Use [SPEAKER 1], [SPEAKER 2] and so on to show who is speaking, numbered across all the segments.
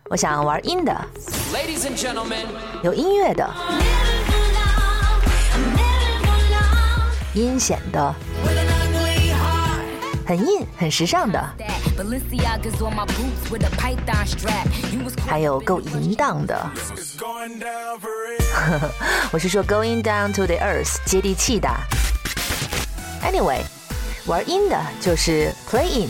[SPEAKER 1] 我想玩阴的，
[SPEAKER 2] Ladies and gentlemen，
[SPEAKER 1] 有音乐的，阴险的，很硬很时尚的，还有够淫荡的。我是说 going down to the earth， 接地气的。Anyway， 玩阴的就是 play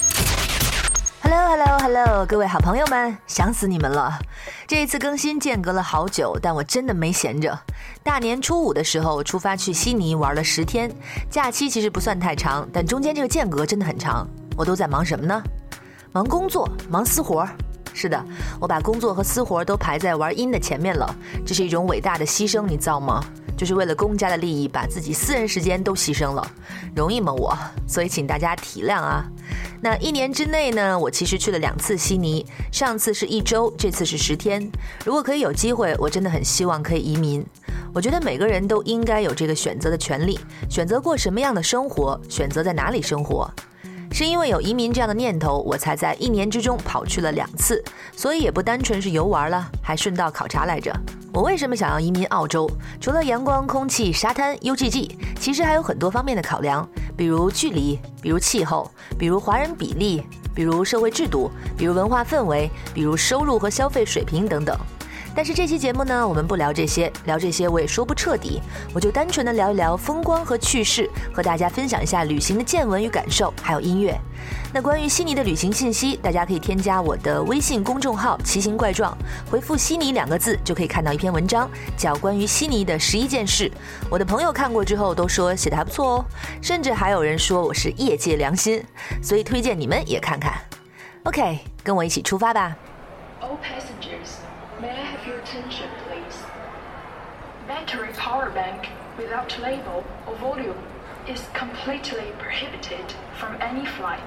[SPEAKER 1] in。Hello， 各位好朋友们，想死你们了！这一次更新间隔了好久，但我真的没闲着。大年初五的时候出发去悉尼玩了10天，假期其实不算太长，但中间这个间隔真的很长。我都在忙什么呢？忙工作，忙私活。是的，我把工作和私活都排在玩音的前面了，这是一种伟大的牺牲，你造吗？就是为了公家的利益，把自己私人时间都牺牲了，容易吗我？所以请大家体谅啊。那1年之内呢，我其实去了2次悉尼，上次是1周，这次是10天。如果可以有机会，我真的很希望可以移民。我觉得每个人都应该有这个选择的权利，选择过什么样的生活，选择在哪里生活。是因为有移民这样的念头，我才在1年之中跑去了2次，所以也不单纯是游玩了，还顺道考察来着。我为什么想要移民澳洲？除了阳光、空气、沙滩、UGG， 其实还有很多方面的考量，比如距离，比如气候，比如华人比例，比如社会制度，比如文化氛围，比如收入和消费水平等等。但是这期节目呢，我们不聊这些，聊这些我也说不彻底，我就单纯的聊一聊风光和趣事，和大家分享一下旅行的见闻与感受，还有音乐。那关于悉尼的旅行信息，大家可以添加我的微信公众号奇形怪状，回复悉尼2个字就可以看到一篇文章，叫关于悉尼的11件事。我的朋友看过之后都说写得还不错哦，甚至还有人说我是业界良心，所以推荐你们也看看。 OK， 跟我一起出发吧。
[SPEAKER 3] All passengers, may I have your attention, please? Battery power bank without label or volume is completely prohibited from any flight.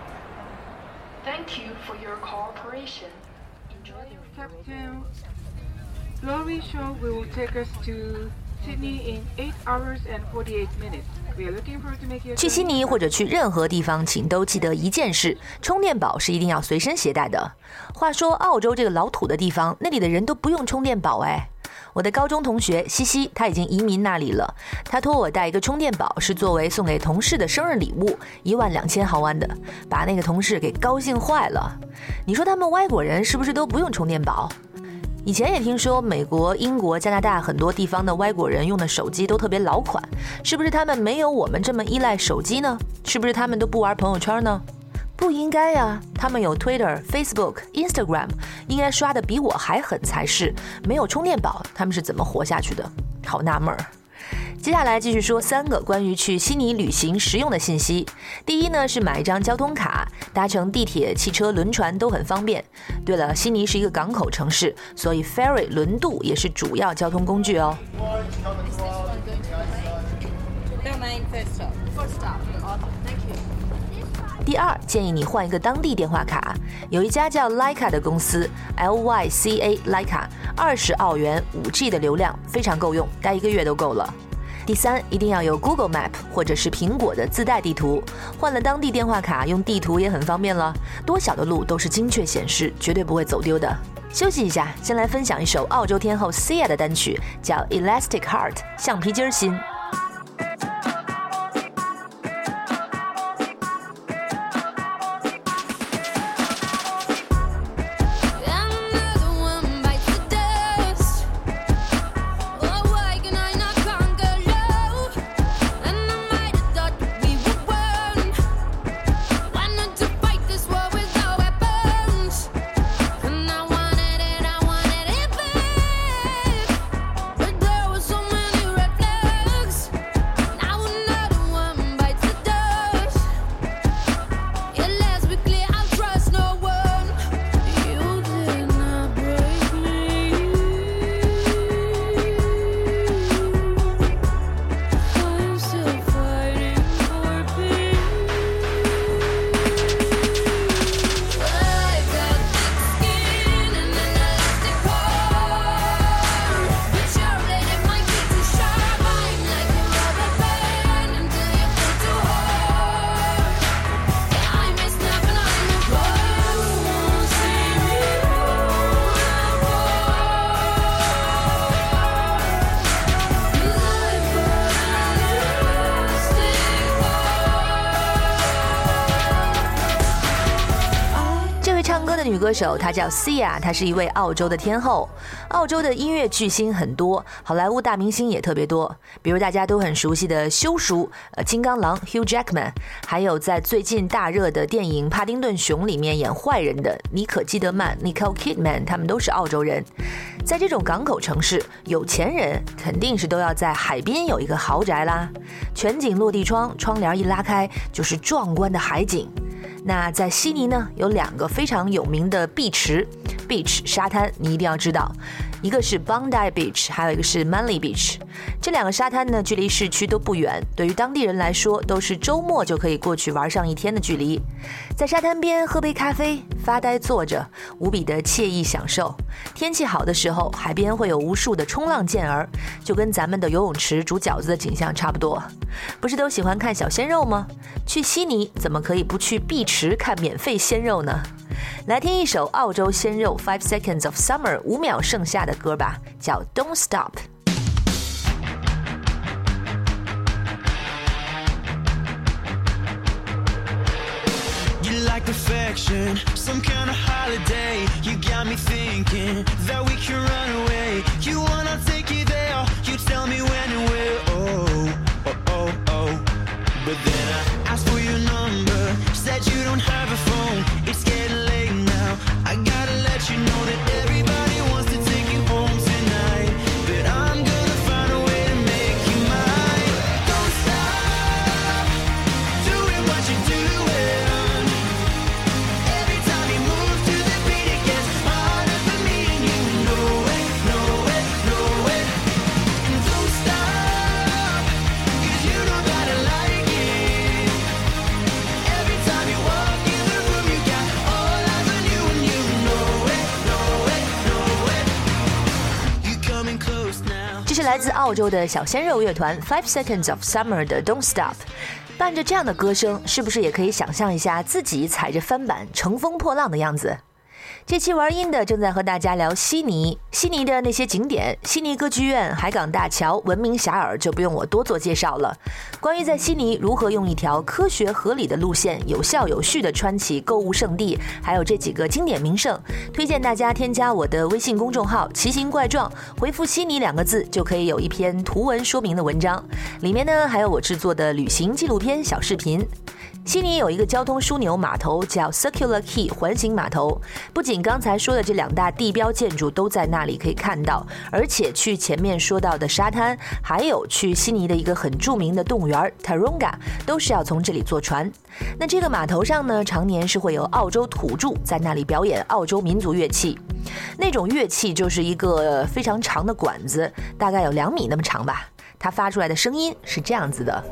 [SPEAKER 3] Thank you for your cooperation. Enjoy your
[SPEAKER 4] Captain, Glory Show will take us to Sydney in 8 hours and 48 minutes. We are looking forward to make you.
[SPEAKER 1] 去悉尼或者去任何地方，请都记得一件事：充电宝是一定要随身携带的。话说，澳洲这个老土的地方，那里的人都不用充电宝哎。我的高中同学西西，他已经移民那里了。他托我带一个充电宝，是作为送给同事的生日礼物，12000毫安的，把那个同事给高兴坏了。你说他们外国人是不是都不用充电宝？以前也听说美国、英国、加拿大很多地方的外国人用的手机都特别老款，是不是他们没有我们这么依赖手机呢？是不是他们都不玩朋友圈呢？不应该呀，他们有 Twitter、Facebook、Instagram， 应该刷的比我还狠才是。没有充电宝，他们是怎么活下去的？好纳闷儿。接下来继续说3个关于去悉尼旅行实用的信息。第一呢，是买一张交通卡，搭乘地铁、汽车、轮船都很方便。对了，悉尼是一个港口城市，所以 ferry 轮渡也是主要交通工具哦。第二，建议你换一个当地电话卡，有一家叫 Lyca 的公司 LYCA Lyca， 20澳元 5G 的流量非常够用，待1个月都够了。第三，一定要有 Google Map 或者是苹果的自带地图，换了当地电话卡，用地图也很方便了，多小的路都是精确显示，绝对不会走丢的。休息一下，先来分享一首澳洲天后 Sia 的单曲，叫 Elastic Heart 橡皮筋心。 的女歌手，她叫 Sia， 她是一位澳洲的天后。澳洲的音乐巨星很多，好莱坞大明星也特别多，比如大家都很熟悉的修叔、金刚狼 Hugh Jackman， 还有在最近大热的电影《帕丁顿熊》里面演坏人的妮可基德曼 Nicole Kidman， 他们都是澳洲人。在这种港口城市，有钱人肯定是都要在海边有一个豪宅啦，全景落地窗，窗帘一拉开就是壮观的海景。那在悉尼呢，有2个非常有名的碧池 beach 沙滩，你一定要知道，一个是 Bondi Beach， 还有一个是 Manly Beach。 这2个沙滩呢，距离市区都不远，对于当地人来说都是周末就可以过去玩上一天的距离。在沙滩边喝杯咖啡，发呆坐着，无比的惬意享受。天气好的时候，海边会有无数的冲浪健儿，就跟咱们的游泳池煮饺子的景象差不多。不是都喜欢看小鲜肉吗？去悉尼怎么可以不去碧池看免费鲜肉呢？来听一首澳洲鲜肉 5 Seconds of Summer 5秒盛夏的歌吧，叫 Don't Stop。
[SPEAKER 2] Like perfection, some kind of holiday. You got me thinking that we can run away. You wanna take you there, you tell me when and where. Oh, oh, oh, oh. But then I asked for your number, said you don't have a phone. It's getting late now, I gotta let you know that everybody wants to take you home tonight. But I'm gonna find a way to make you mine. Don't stop doing what you're doing. coming close now。
[SPEAKER 1] 这是来自澳洲的小鲜肉乐团 5 Seconds of Summer 的 Don't Stop。 伴着这样的歌声，是不是也可以想象一下自己踩着帆板乘风破浪的样子？这期玩音的正在和大家聊悉尼的那些景点，悉尼歌剧院、海港大桥闻名遐迩，就不用我多做介绍了。关于在悉尼如何用一条科学合理的路线有效有序地穿起购物圣地，还有这几个经典名胜，推荐大家添加我的微信公众号奇形怪状，回复悉尼2个字就可以有一篇图文说明的文章，里面呢还有我制作的旅行纪录片小视频。悉尼有一个交通枢纽码头叫 Circular Quay 环形码头，不仅刚才说的这2大地标建筑都在那里可以看到，而且去前面说到的沙滩，还有去悉尼的一个很著名的动物园 Taronga 都是要从这里坐船。那这个码头上呢，常年是会有澳洲土著在那里表演澳洲民族乐器，那种乐器就是一个非常长的管子，大概有2米那么长吧，它发出来的声音是这样子的。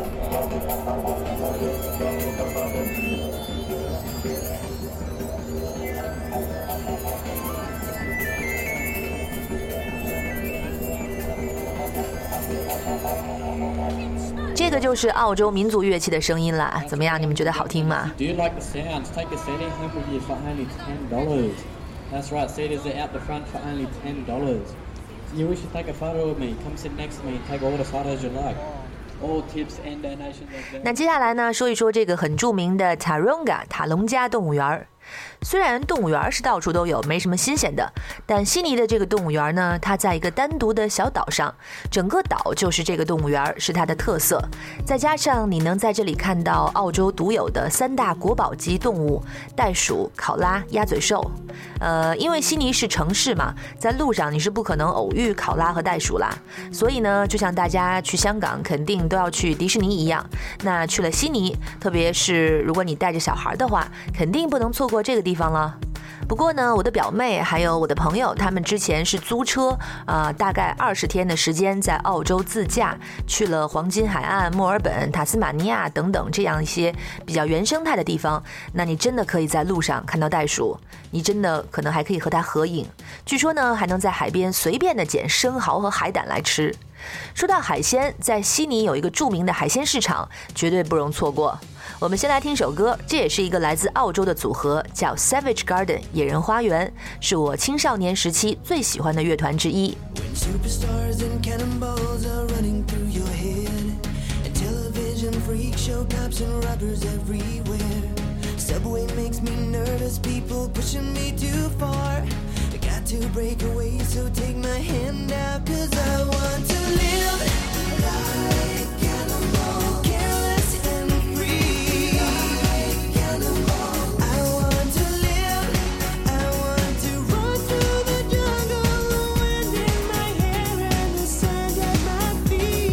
[SPEAKER 1] 这个就是澳洲民族乐器的声音啦，怎么样？你们觉得好听吗
[SPEAKER 5] Do you like the sounds? Take your CD home with you for only $10. That's right, CDs are out the front for only $10. You wish to take a photo with me? Come sit next to me and take all the photos you like. All tips and donations are there.
[SPEAKER 1] 那接下来呢，说一说这个很著名的 Taronga 塔隆加动物园。虽然动物园是到处都有，没什么新鲜的，但悉尼的这个动物园呢，它在一个单独的小岛上，整个岛就是这个动物园，是它的特色。再加上你能在这里看到澳洲独有的3大国宝级动物：袋鼠、考拉、鸭嘴兽。因为悉尼是城市嘛，在路上你是不可能偶遇考拉和袋鼠啦，所以呢，就像大家去香港肯定都要去迪士尼一样，那去了悉尼，特别是如果你带着小孩的话，肯定不能错过这个地方了。不过呢，我的表妹还有我的朋友，他们之前是租车大概20天的时间在澳洲自驾，去了黄金海岸、墨尔本、塔斯马尼亚等等这样一些比较原生态的地方。那你真的可以在路上看到袋鼠，你真的可能还可以和它合影。据说呢，还能在海边随便的捡生蚝和海胆来吃。说到海鲜，在悉尼有一个著名的海鲜市场，绝对不容错过。我们先来听首歌，这也是一个来自澳洲的组合，叫 Savage Garden 野人花园，是我青少年时期最喜欢的乐团之一。
[SPEAKER 2] Subway makes me nervous, people pushing me too far. I got to break away, so take my hand out, 'cause I want to live like animal, careless and free. Like animal. I want to live, I want to run through the jungle, the wind in my hair and the sand at my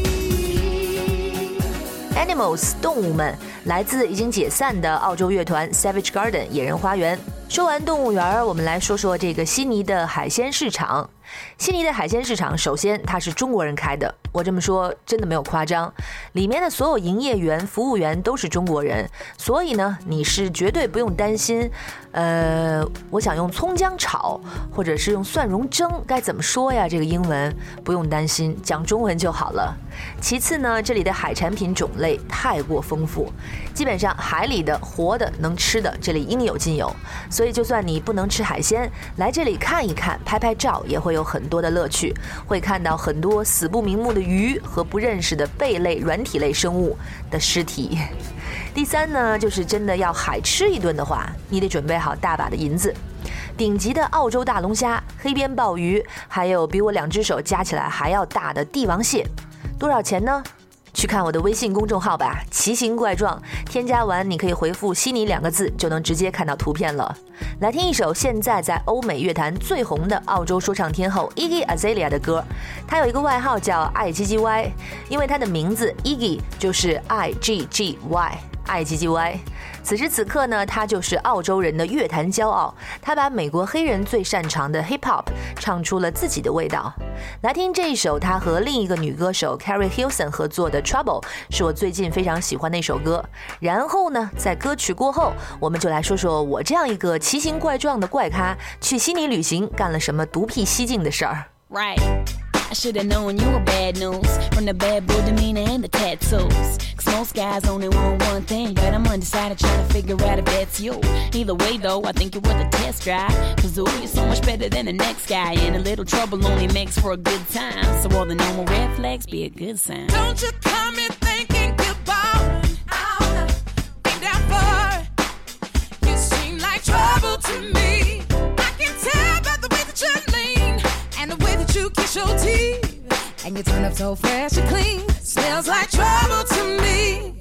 [SPEAKER 2] feet.
[SPEAKER 1] Animals 动物们来自已经解散的澳洲乐团 Savage Garden 野人花园。说完动物园，我们来说说这个悉尼的海鲜市场。悉尼的海鲜市场，首先它是中国人开的，我这么说真的没有夸张，里面的所有营业员、服务员都是中国人，所以呢，你是绝对不用担心，我想用葱姜炒，或者是用蒜蓉蒸，该怎么说呀？这个英文不用担心，讲中文就好了。其次呢，这里的海产品种类太过丰富，基本上海里的、活的、能吃的，这里应有尽有。所以就算你不能吃海鲜，来这里看一看、拍拍照，也会有很多的乐趣，会看到很多死不瞑目的鱼和不认识的贝类、软体类生物的尸体。第三呢，就是真的要海吃一顿的话，你得准备好大把的银子。顶级的澳洲大龙虾、黑边鲍鱼，还有比我2只手加起来还要大的帝王蟹，多少钱呢？去看我的微信公众号吧，奇形怪状，添加完你可以回复悉尼2个字，就能直接看到图片了。来听一首现在在欧美乐坛最红的澳洲说唱天后 Iggy Azalea 的歌，她有一个外号叫爱 GGY， 因为她的名字 Iggy 就是爱 GGY， 爱 GGY。此时此刻呢，他就是澳洲人的乐坛骄傲，他把美国黑人最擅长的 hip hop 唱出了自己的味道。来听这一首他和另一个女歌手 Carrie Hilson 合作的 Trouble， 是我最近非常喜欢的一首歌。然后呢，在歌曲过后，我们就来说说我这样一个奇形怪状的怪咖去悉尼旅行干了什么独辟蹊径的事儿。
[SPEAKER 6] Right.I should've known you were bad news from the bad boy demeanor and the tattoos. Cause most guys only want one thing, but I'm undecided trying to figure out if that's you. Either way though, I think you're worth a test drive. Cause ooh, you're so much better than the next guy. And a little trouble only makes for a good time. So all the normal red flags be a good sign.
[SPEAKER 7] Don't you come in thinking you're ballin' out, ain't that far. You seem like trouble to me. I can tell by the way that you lean and the way that you kiss your teeth, and you turn up so fresh and clean. Smells like trouble to me.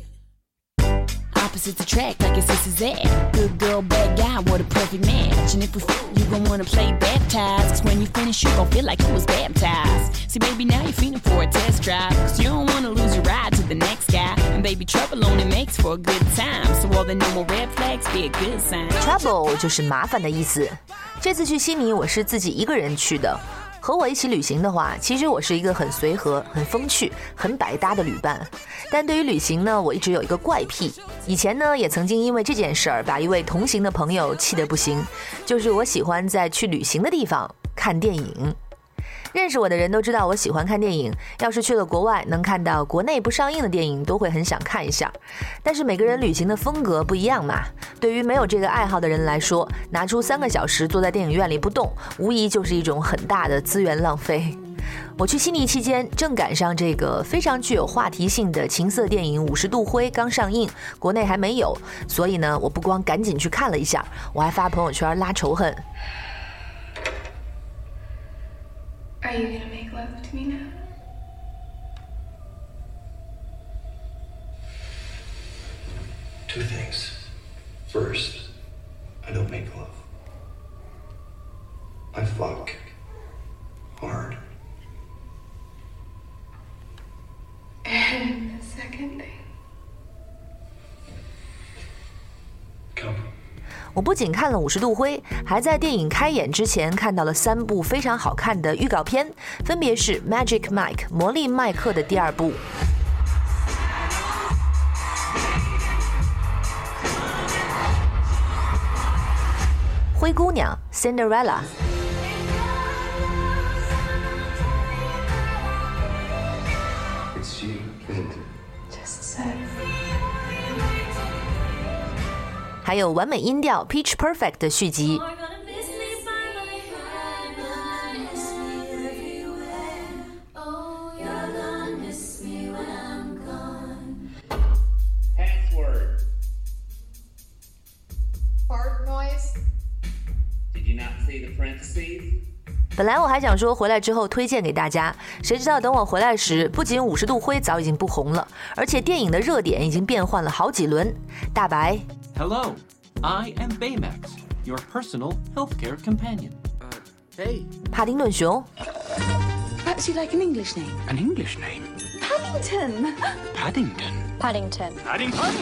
[SPEAKER 6] Opposites attract like your sister's at. Good girl, bad guy, what a perfect match. And if we f***, you gon' wanna play baptized. Cause when you finish, you gon' feel like you was baptized. See, baby, now you're feeling for a test drive. Cause you don't wanna lose your ride to the next guy. And baby, trouble only makes for a good time. So all the normal red flags be a good sign.
[SPEAKER 1] Trouble 就是麻烦的意思。这次去悉尼，我是自己一个人去的。和我一起旅行的话，其实我是一个很随和、很风趣、很百搭的旅伴。但对于旅行呢，我一直有一个怪癖。以前呢，也曾经因为这件事儿把一位同行的朋友气得不行，就是我喜欢在去旅行的地方看电影。认识我的人都知道我喜欢看电影，要是去了国外能看到国内不上映的电影都会很想看一下。但是每个人旅行的风格不一样嘛，对于没有这个爱好的人来说，拿出3个小时坐在电影院里不动，无疑就是一种很大的资源浪费。我去悉尼期间正赶上这个非常具有话题性的情色电影《50度灰》刚上映，国内还没有，所以呢，我不光赶紧去看了一下，我还发朋友圈拉仇恨。
[SPEAKER 3] Are you gonna make love to me now?
[SPEAKER 8] Two things. First, I don't make love. I fuck hard.
[SPEAKER 3] And the second thing?
[SPEAKER 8] Come.
[SPEAKER 1] 我不仅看了50度灰，还在电影开演之前看到了3部非常好看的预告片，分别是 Magic Mike 魔力麦克的第2部，灰姑娘 Cinderella，
[SPEAKER 8] It's you, and
[SPEAKER 3] Just said.
[SPEAKER 1] 还有完美音调 Pitch Perfect 的续集。 本来我还想说回来之后推荐给大家，谁知道等我回来时，不仅50度灰早已经不红了，而且电影的热点已经变换了好几轮。大白
[SPEAKER 9] Hello, I am Baymax, your personal healthcare companion.
[SPEAKER 8] Hey.
[SPEAKER 1] 帕丁顿熊
[SPEAKER 10] Perhaps you'd like an English name.
[SPEAKER 8] An English name?
[SPEAKER 10] Paddington.
[SPEAKER 8] Paddington.
[SPEAKER 10] Paddington.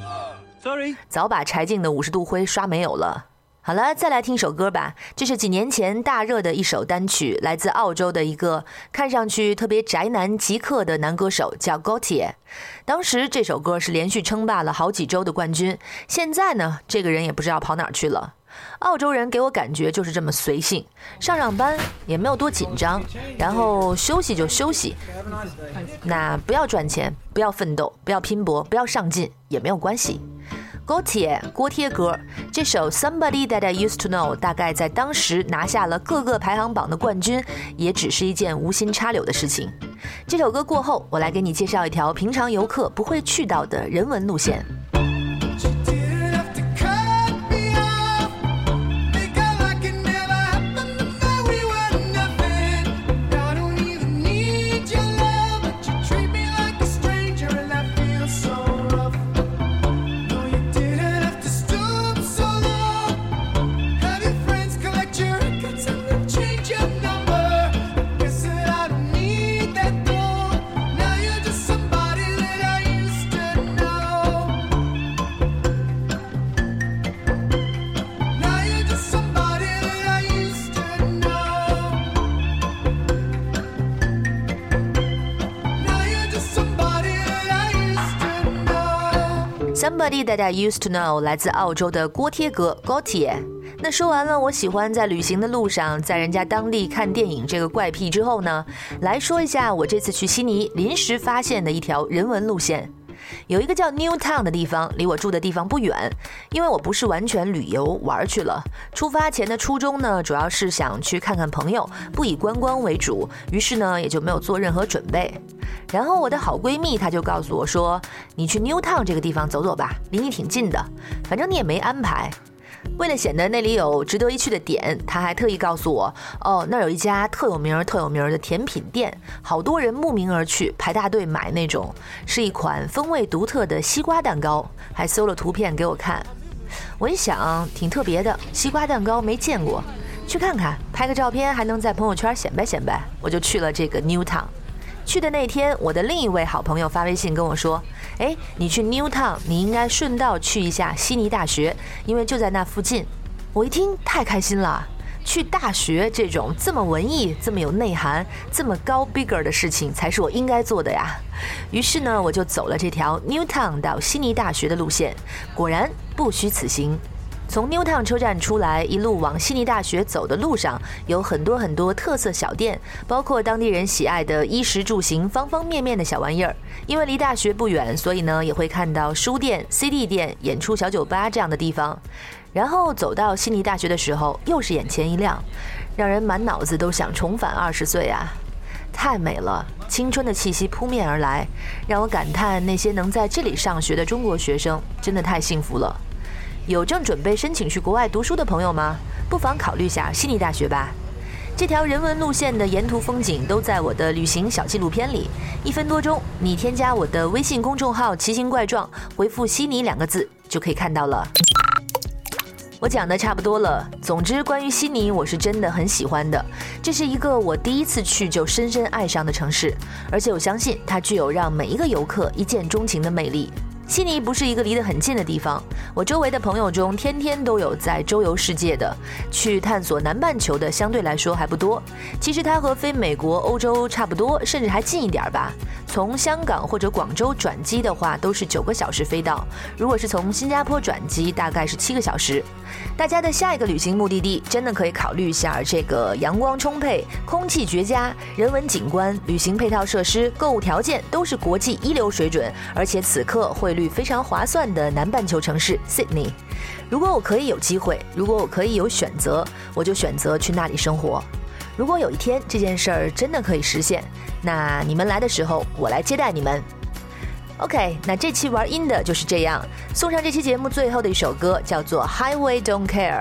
[SPEAKER 8] Sorry.
[SPEAKER 1] 早把柴静的50度灰刷没有了。好了，再来听首歌吧。这是几年前大热的一首单曲，来自澳洲的一个看上去特别宅男极客的男歌手，叫 Gautier。当时这首歌是连续称霸了好几周的冠军。现在呢，这个人也不知道跑哪儿去了。澳洲人给我感觉就是这么随性，上班也没有多紧张，然后休息就休息。那不要赚钱，不要奋斗，不要拼搏，不要上进也没有关系。Gautier 锅贴歌这首 Somebody That I Used to Know 大概在当时拿下了各个排行榜的冠军，也只是一件无心插柳的事情。这首歌过后，我来给你介绍一条平常游客不会去到的人文路线。Somebody That I Used to Know 来自澳洲的锅贴哥 Gautier。 那说完了我喜欢在旅行的路上在人家当地看电影这个怪癖之后呢，来说一下我这次去悉尼临时发现的一条人文路线。有一个叫 Newtown 的地方，离我住的地方不远。因为我不是完全旅游玩去了，出发前的初衷呢，主要是想去看看朋友，不以观光为主，于是呢也就没有做任何准备。然后我的好闺蜜她就告诉我说，你去 Newtown 这个地方走走吧，离你挺近的，反正你也没安排。为了显得那里有值得一去的点，他还特意告诉我，那儿有一家特有名的甜品店，好多人慕名而去，排大队买那种，是一款风味独特的西瓜蛋糕，还搜了图片给我看。我一想挺特别的，西瓜蛋糕没见过，去看看，拍个照片还能在朋友圈显摆，我就去了这个 Newtown。去的那天，我的另一位好朋友发微信跟我说，你去 Newtown 你应该顺道去一下悉尼大学，因为就在那附近。我一听太开心了，去大学这种这么文艺这么有内涵这么高 bigger 的事情才是我应该做的呀。于是呢我就走了这条 Newtown 到悉尼大学的路线，果然不虚此行。从 Newtown 车站出来，一路往悉尼大学走的路上，有很多特色小店，包括当地人喜爱的衣食住行方方面面的小玩意儿。因为离大学不远，所以呢也会看到书店、CD 店、演出小酒吧这样的地方。然后走到悉尼大学的时候，又是眼前一亮，让人满脑子都想重返20岁啊！太美了，青春的气息扑面而来，让我感叹那些能在这里上学的中国学生真的太幸福了。有正准备申请去国外读书的朋友吗？不妨考虑下悉尼大学吧。这条人文路线的沿途风景都在我的旅行小纪录片里，1分多钟，你添加我的微信公众号奇形怪状，回复悉尼2个字就可以看到了。我讲的差不多了，总之关于悉尼我是真的很喜欢的，这是一个我第一次去就深深爱上的城市，而且我相信它具有让每一个游客一见钟情的魅力。悉尼不是一个离得很近的地方，我周围的朋友中天天都有在周游世界的，去探索南半球的相对来说还不多。其实它和飞美国、欧洲差不多，甚至还近一点吧。从香港或者广州转机的话都是9个小时飞到，如果是从新加坡转机大概是7个小时。大家的下一个旅行目的地真的可以考虑一下这个阳光充沛、空气绝佳、人文景观、旅行配套设施、购物条件都是国际一流水准，而且此刻汇率非常划算的南半球城市 Sydney。 如果我可以有机会，如果我可以有选择，我就选择去那里生活。如果有一天这件事儿真的可以实现，那你们来的时候我来接待你们。OK， 那这期玩音的就是这样，送上这期节目最后的一首歌，叫做 Highway Don't Care，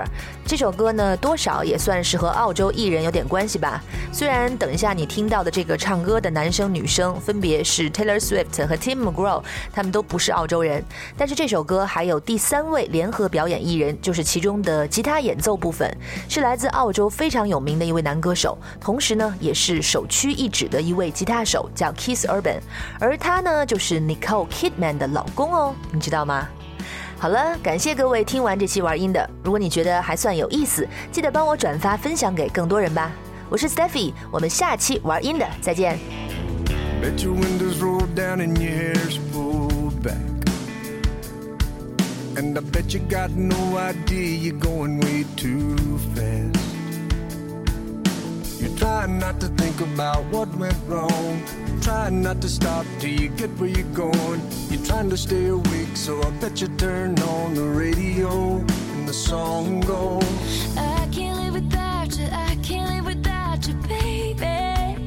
[SPEAKER 1] 这首歌呢，多少也算是和澳洲艺人有点关系吧。虽然等一下你听到的这个唱歌的男生女生分别是 Taylor Swift 和 Tim McGraw， 他们都不是澳洲人，但是这首歌还有第3位联合表演艺人，就是其中的吉他演奏部分，是来自澳洲非常有名的一位男歌手，同时呢，也是首屈一指的一位吉他手，叫 Keith Urban， 而他呢，就是 Nicole Kidman 的老公哦，你知道吗？好了，感谢各位听完这期玩音的，如果你觉得还算有意思，记得帮我转发分享给更多人吧。我是 Steffi， 我们下期玩音的再见。
[SPEAKER 2] Bet your windows roll down and your hair's pulled back, and I bet you got no idea you're going way too fast. You're trying not to think about what went wrong, trying not to stop till you get where you're going. You're trying to stay awake, so I bet you turn on the radio and the song goes,
[SPEAKER 7] I can't live without you, I can't live without you, baby.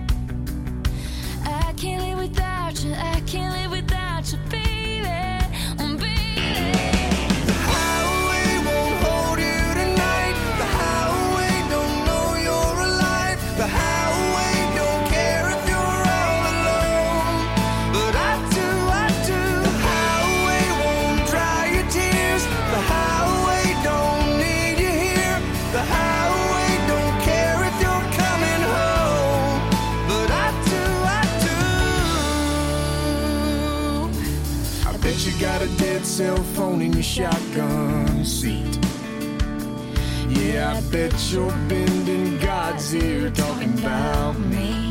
[SPEAKER 7] I can't live without you, I can't live without you, baby.
[SPEAKER 2] the highway won't hold you tonight. The highway don't know you're alive. The highway don't care if you're all alone, but I do. The highway won't dry your tears. The highway don't need you here. The highway don't care if you're coming home, but I do. I bet you got a dead cell phone in your shotgun seat. Yeah, I bet you're bending God's ear talking about me.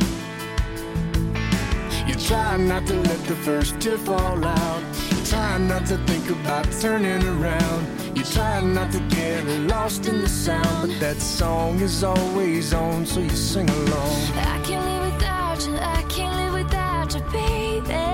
[SPEAKER 2] You try not to let the first tear fall out. You try not to think about turning around. You try not to get lost in the sound, but that song is always on, so you sing along.
[SPEAKER 7] I can't live without you, I can't live without you, baby.